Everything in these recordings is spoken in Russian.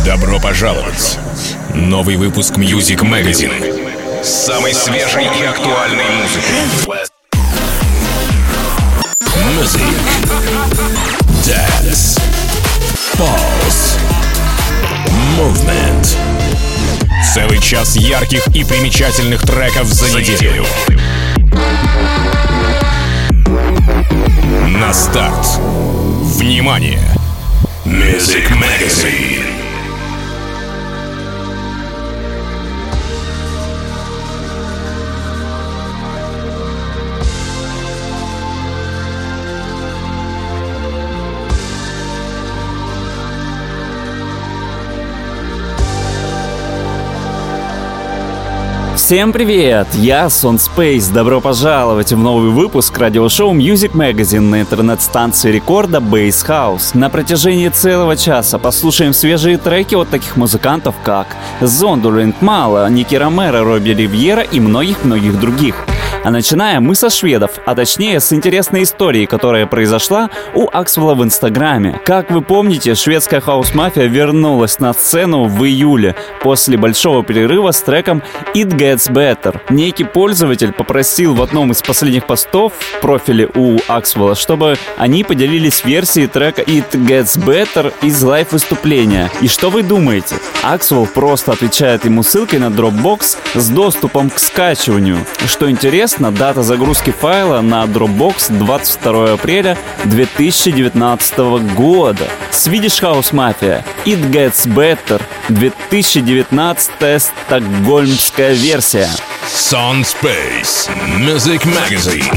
Добро пожаловать! Новый выпуск Music Magazine с самой свежей и актуальной музыкой. Music, Dance, Pulse, Movement. Целый час ярких и примечательных треков за неделю. На старт. Внимание! Music Magazine. Всем привет! Я Сон Спейс. Добро пожаловать в новый выпуск радиошоу Music Magazine на интернет-станции рекорда Bass House. На протяжении целого часа послушаем свежие треки от таких музыкантов, как Зондулинг Мала, Ники Ромеро, Робби Ривьера и многих-многих других. А начинаем мы со шведов, а точнее с интересной историей, которая произошла у Axwell в Инстаграме. Как вы помните, шведская хаус-мафия вернулась на сцену в июле после большого перерыва с треком It Gets Better. Некий пользователь попросил в одном из последних постов в профиле у Axwell, чтобы они поделились версией трека It Gets Better из лайв-выступления. И что вы думаете? Axwell просто отвечает ему ссылкой на Dropbox с доступом к скачиванию. Что интересно, дата загрузки файла на Dropbox 22 апреля 2019 года. Swedish House Mafia It Gets Better 2019 стокгольмская версия. Сон Спейс, Music Magazine.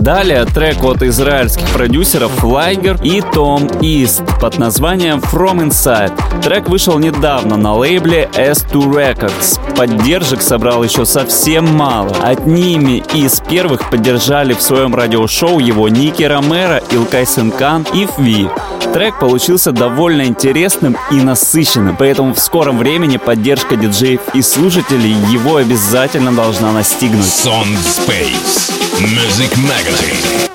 Далее трек от израильских продюсеров Liger и Tom East под названием From Inside. Трек вышел недавно на лейбле S2 Records. Поддержек собрал еще совсем мало. Одними из первых поддержали в своем радиошоу его Ники Ромеро, Илкай Сенкан и Фви. Трек получился довольно интересным и насыщенным, поэтому в скором времени поддержка диджеев и слушателей его обязательно должна настигнуть. Sound Space Music Magazine.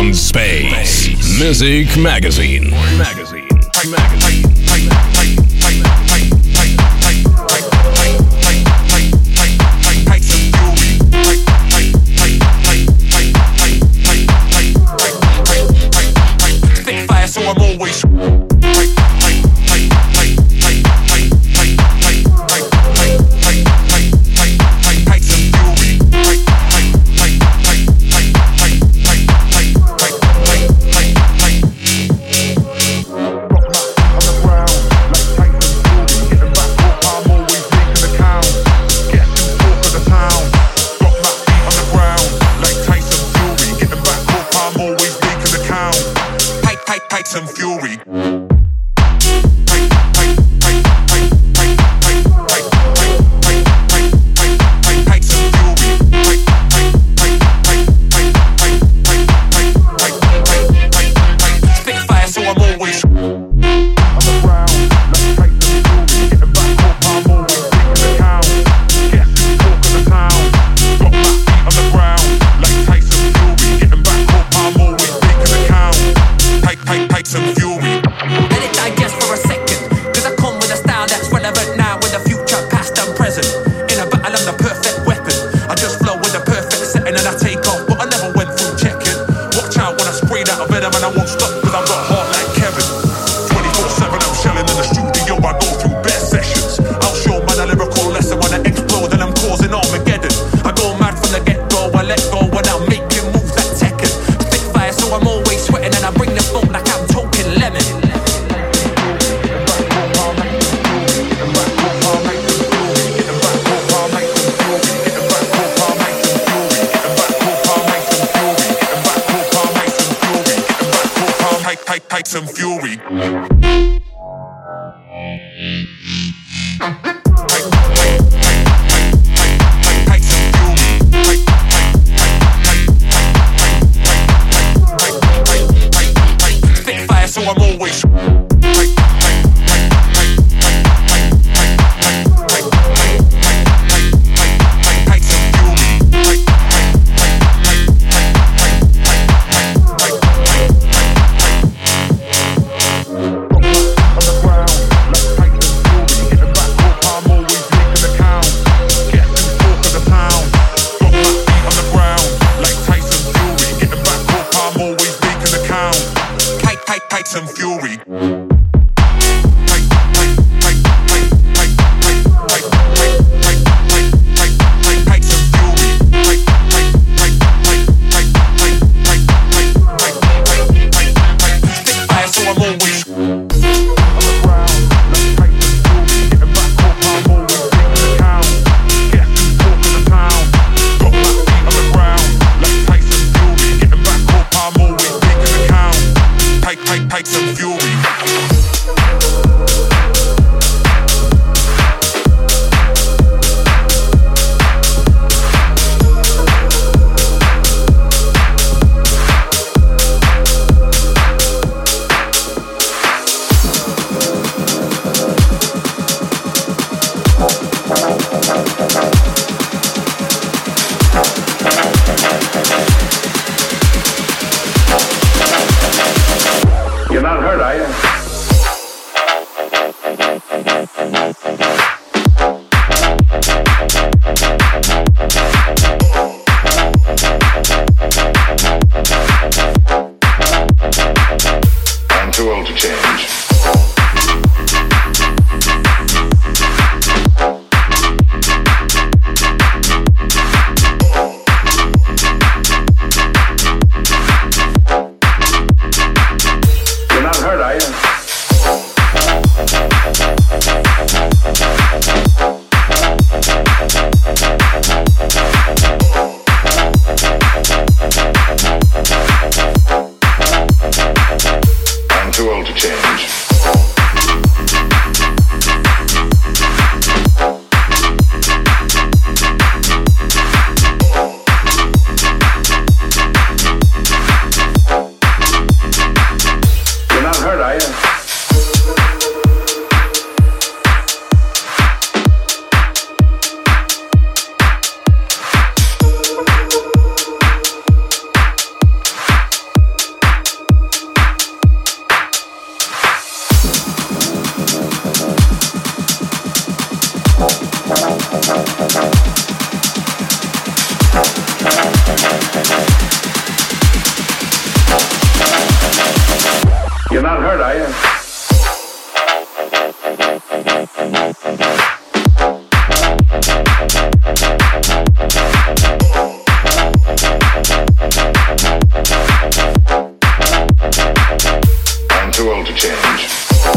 on Space Music Magazine. You're not hurt, are you? I'm too old to change.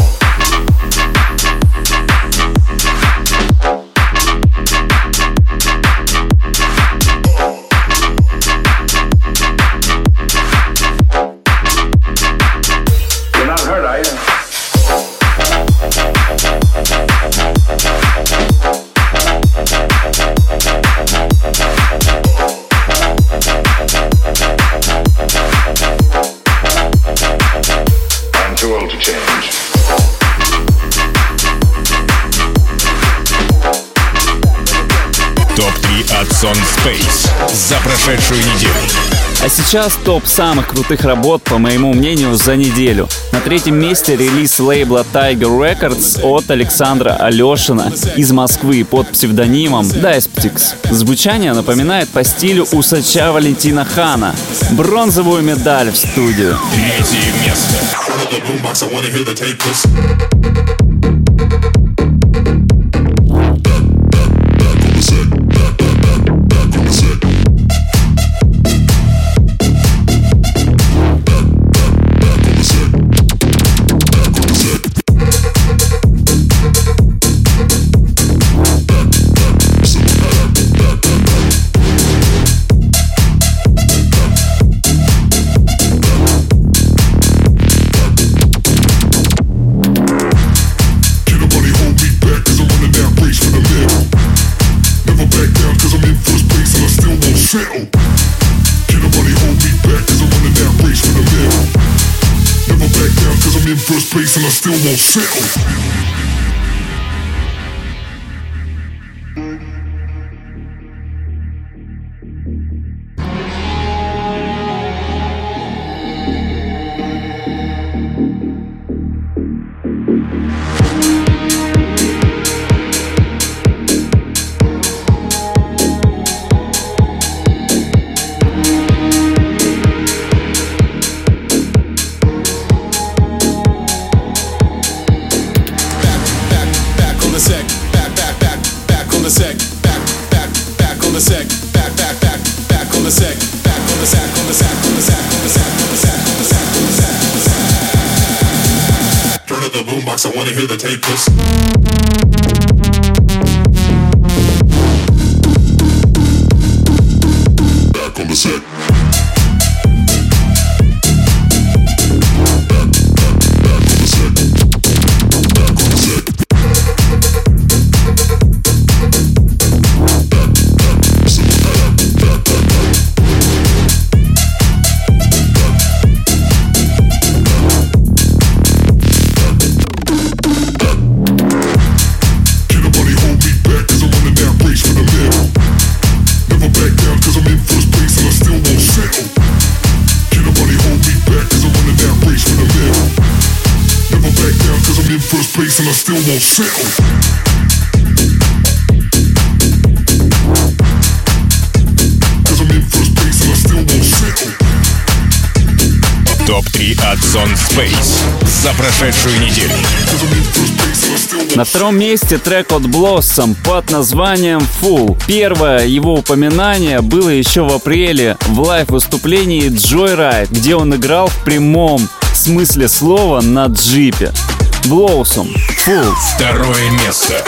Топ-3 от Son Space за прошедшую неделю. А сейчас топ самых крутых работ, по моему мнению, за неделю. На третьем месте релиз лейбла Tiger Records от Александра Алешина из Москвы под псевдонимом Dysptics. Звучание напоминает по стилю усача Валентина Хана. Бронзовую медаль в студию. Третье место. First place and I still won't settle. I wanna hear the tape list. Back on the set. First place and I still won't settle. Cause I'm in first place and I still won't settle. Топ-3 от Son Space за прошедшую неделю. На втором месте трек от Blossom под названием Fool. Первое его упоминание было еще в апреле в лайв-выступлении Joyride, где он играл в прямом смысле слова на джипе. Blossom, Fool. Второе место.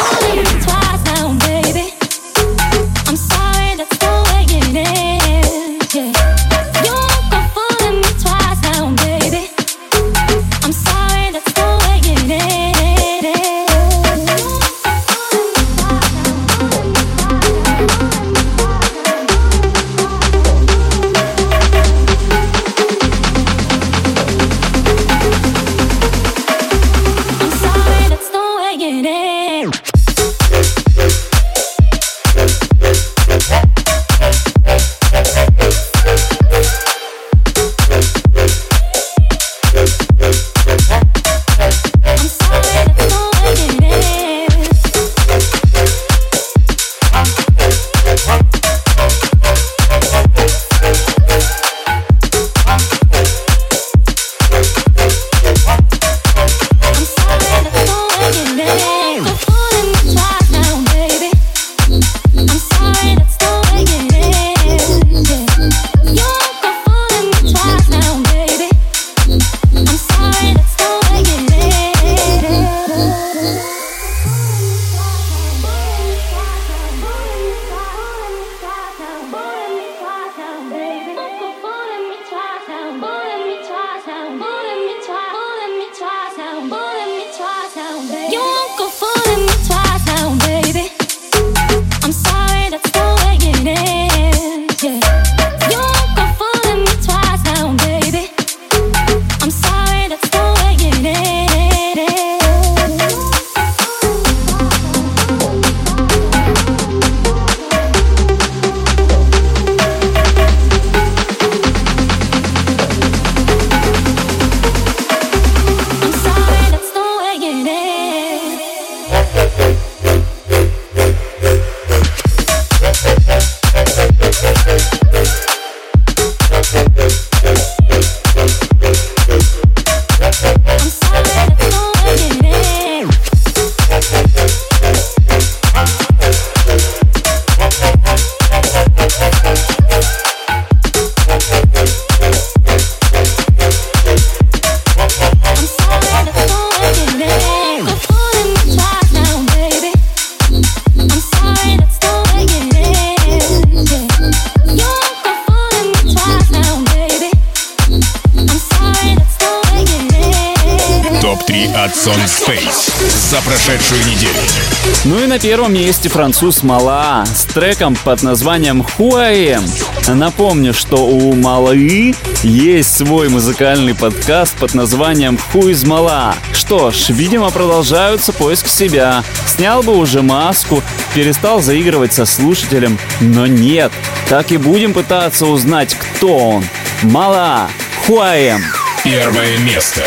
Сон Space за прошедшую неделю. Ну и на первом месте француз Мала с треком под названием Who I Am. Напомню, что у Малы есть свой музыкальный подкаст под названием Who is Mala. Что ж, видимо, продолжаются поиски себя. Снял бы уже маску, перестал заигрывать со слушателем, но нет. Так и будем пытаться узнать, кто он. Мала, Who I Am. Первое место.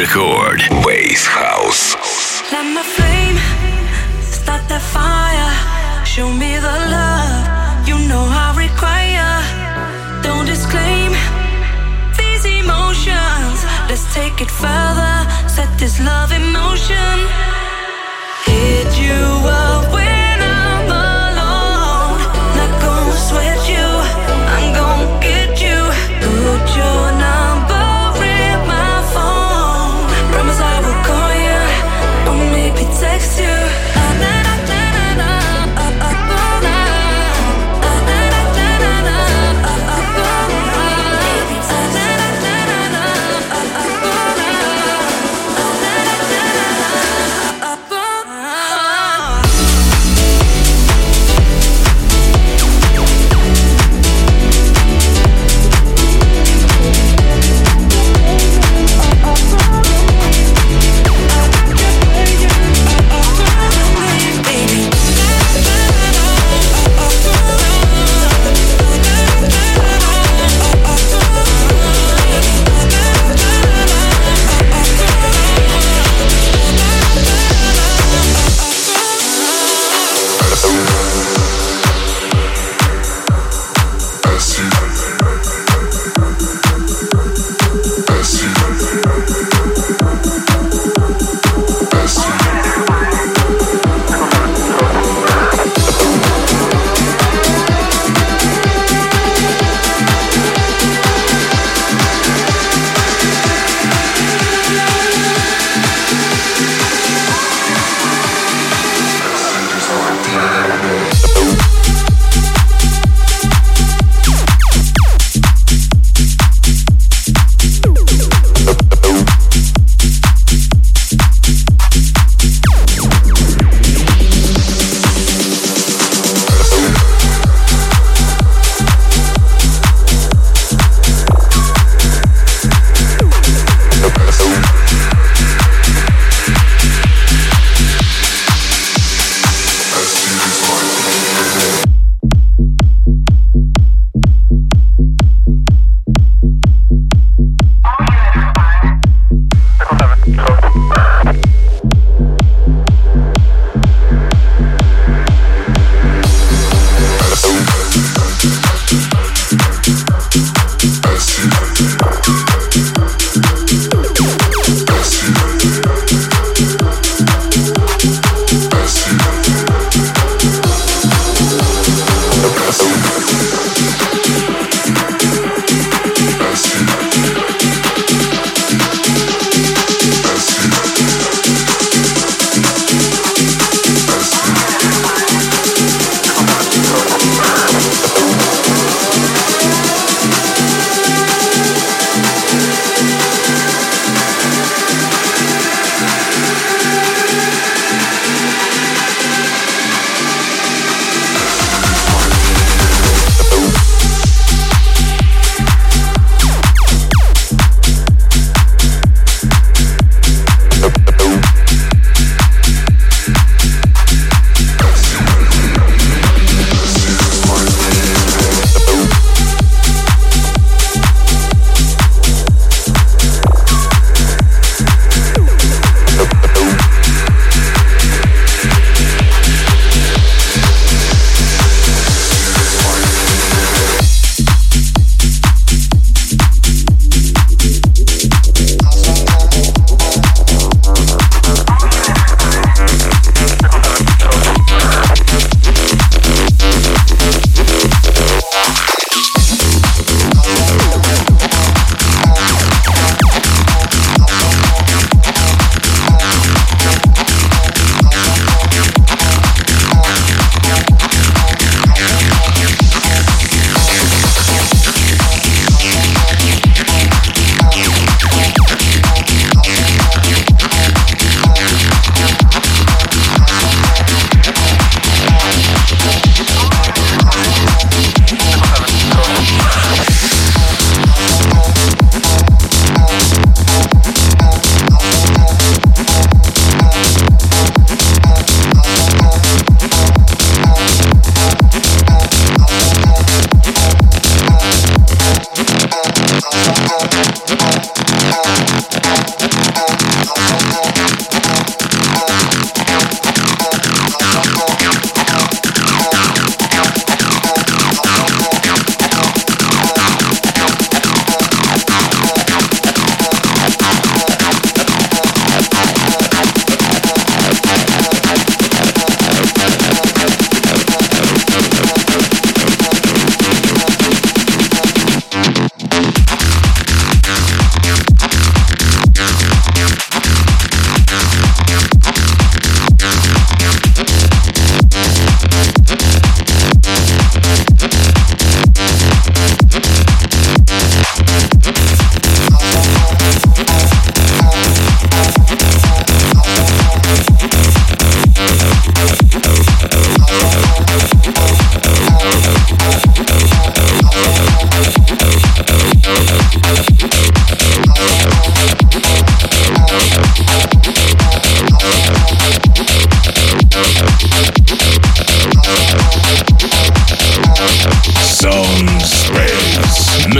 Record Bass House. Let my flame start that fire. Show me the love you know I require. Don't disclaim these emotions. Let's take it further. Set this love in motion. Hit you up when I'm alone. Not gonna sweat you, I'm gonna get you. Put your number in my phone. Promise I will call you, or maybe text you.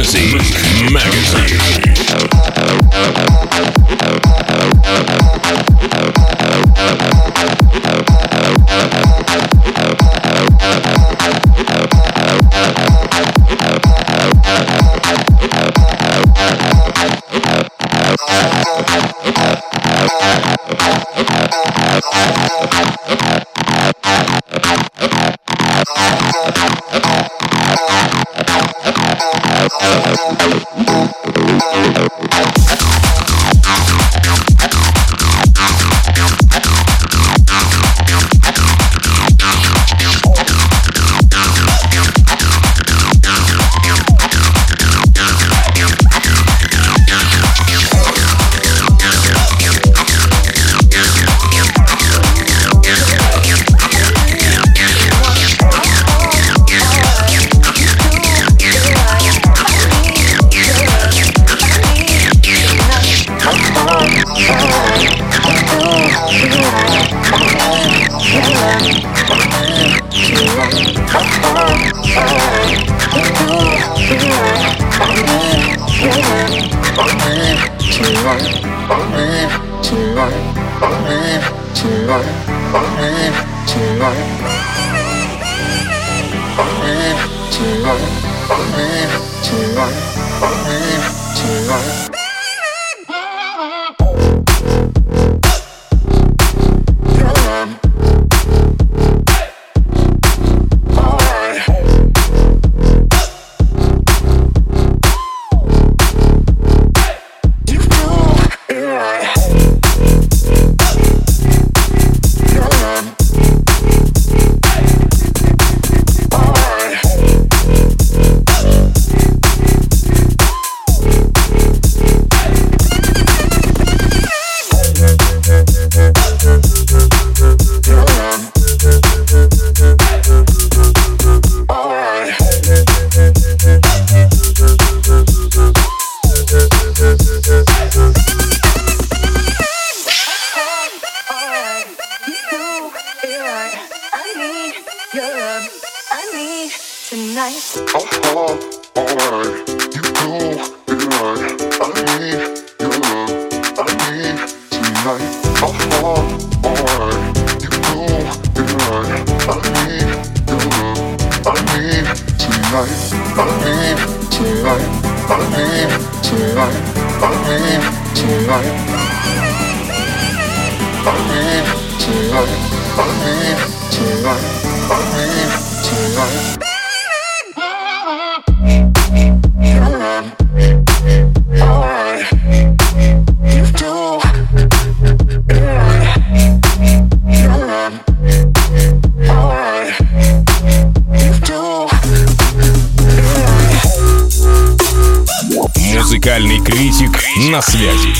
Music Magazine. Музыкальный критик на связи.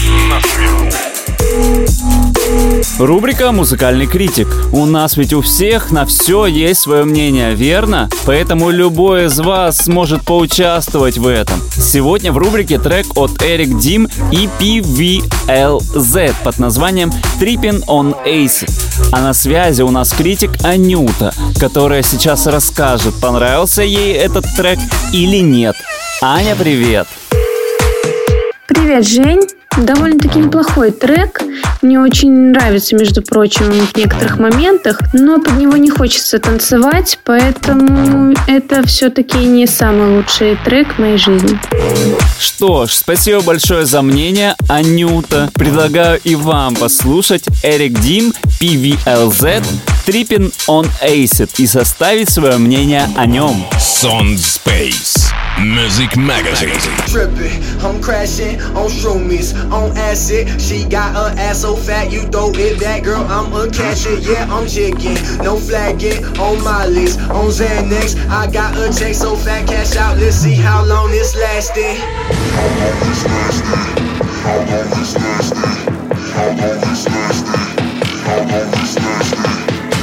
Рубрика «Музыкальный критик». У нас ведь у всех на все есть свое мнение, верно? Поэтому любой из вас сможет поучаствовать в этом. Сегодня в рубрике трек от Eric Dim и PVLZ под названием «Trippin' on Acid». А на связи у нас критик Анюта, которая сейчас расскажет, понравился ей этот трек или нет. Аня, привет! Привет, Жень. Довольно-таки неплохой трек. Мне очень нравится, между прочим, в некоторых моментах, но под него не хочется танцевать, поэтому это все-таки не самый лучший трек в моей жизни. Что ж, спасибо большое за мнение, Анюта. Предлагаю и вам послушать Eric Dim, PVLZ, Trippin' on Acid и составить свое мнение о нем. Sound Space Music Magazine. Trippin', I'm crashing on shroomies, on acid. She got her ass so fat, you throw it back, girl. I'm a catcher, yeah, I'm chicken. No flagging on my list, on Xanax. I got a check so fat, cash out. Let's see how long this lasting. How long this lasting? How long this lasting? How long this lasting? How long this lasting?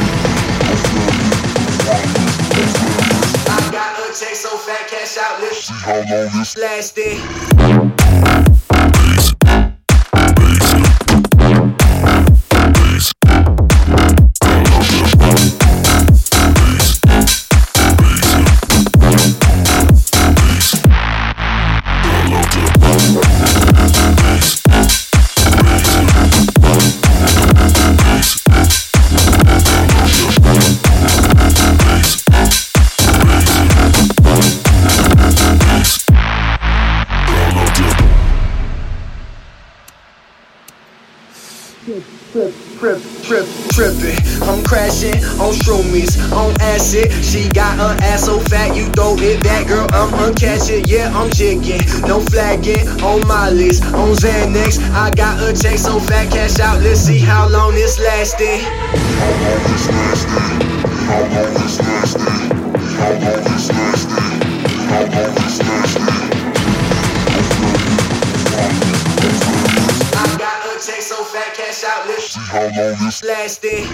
I got a check so fat, cash out. Let's see how long this lasting. Trippin', I'm crashing on shroomies, on acid. She got her ass so fat, you throw it back, girl, I'm uncatching. Yeah, I'm jigging, no flagging on my list. On Xanax, I got a check so fat, cash out. Let's see how long this lasting. How long this lasting? How long this lasting? How long this lasting? How long this lasting? I got a check so fat, cash out. Let's see how long this lasting.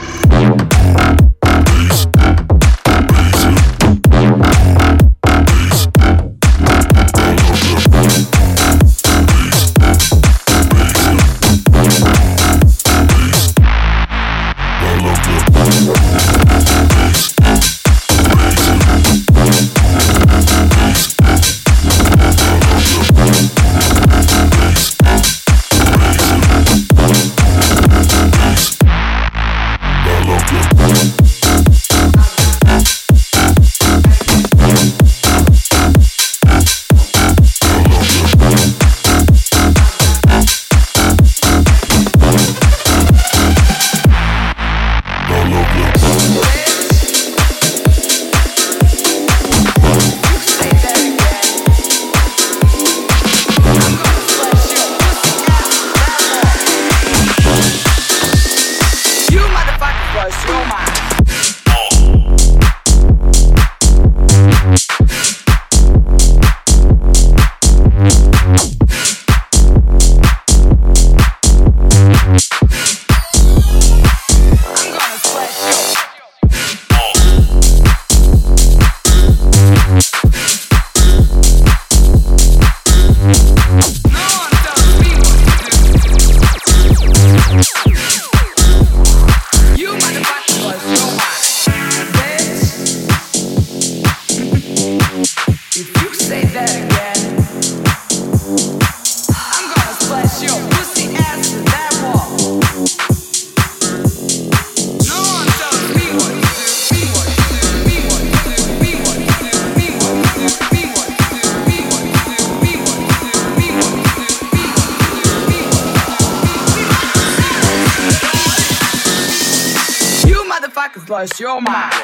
Plus your mind.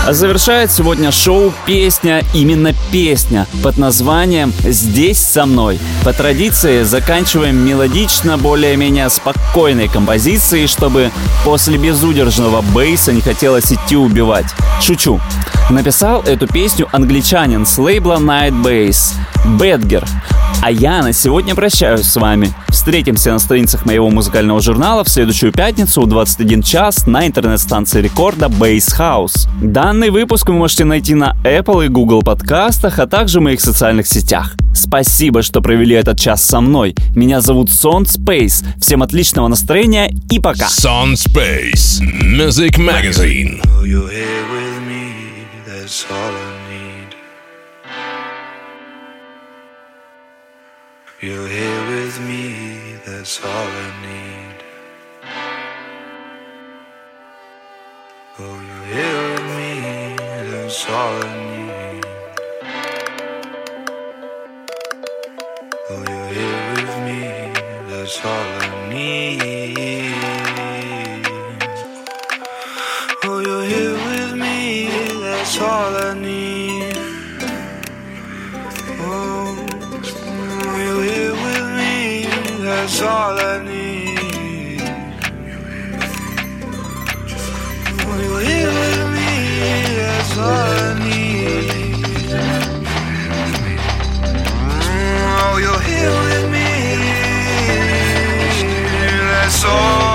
А завершает сегодня шоу песня, именно песня, под названием «Здесь со мной». По традиции заканчиваем мелодично, более-менее спокойной композицией, чтобы после безудержного бейса не хотелось идти убивать. Шучу. Написал эту песню англичанин с лейбла Night Bass Бэдгер. А я на сегодня прощаюсь с вами. Встретимся на страницах моего музыкального журнала в следующую пятницу в 21 час на интернет-станции рекорда Bass House. Данный выпуск вы можете найти на Apple и Google подкастах, а также в моих социальных сетях. Спасибо, что провели этот час со мной. Меня зовут Sound Space. Всем отличного настроения и пока. Sound Space Music Magazine. You're here with me, that's all I need. Oh, you're here with me, that's all I need. Oh, you're here with me, that's all I need. Oh, you're here with me, that's all I need. Oh, you're here with me, that's all I need. Oh, you're here with me, that's all I need. Oh, you're here with me, that's all I need.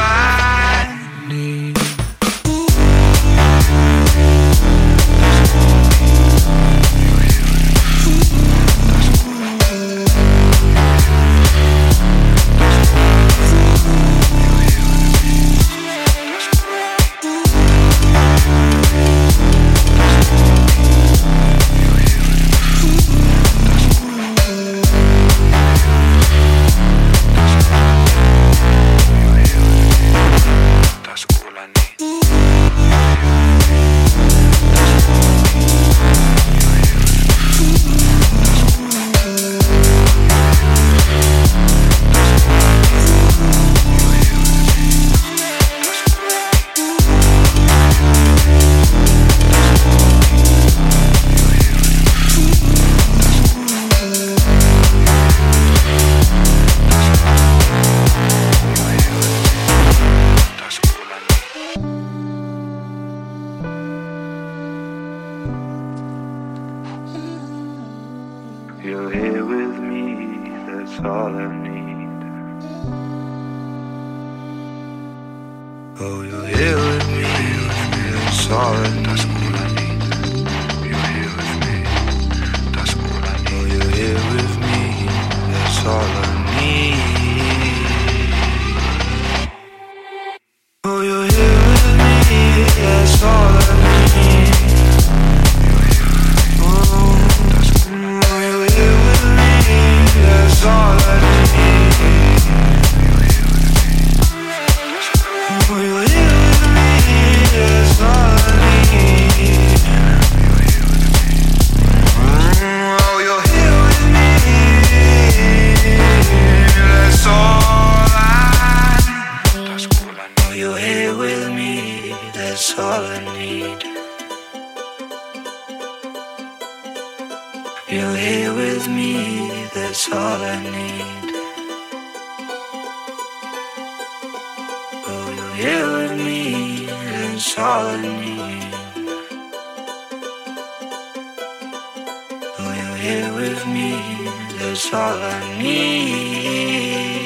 You're here with me, that's all I need. Oh, you're here with me, that's all I need. You're here with me, that's all I need. Oh, you're here with me, that's all I need. Oh, you're here with me, that's all I need. That's all I need. Oh, you're here with me, that's all I need. Oh, you're here with me, that's all I need. Oh, you're here with me, that's all I need. You're here with me, that's all I need. Oh, you're here with me, that's all I need. Oh, you're here with me, that's all I need.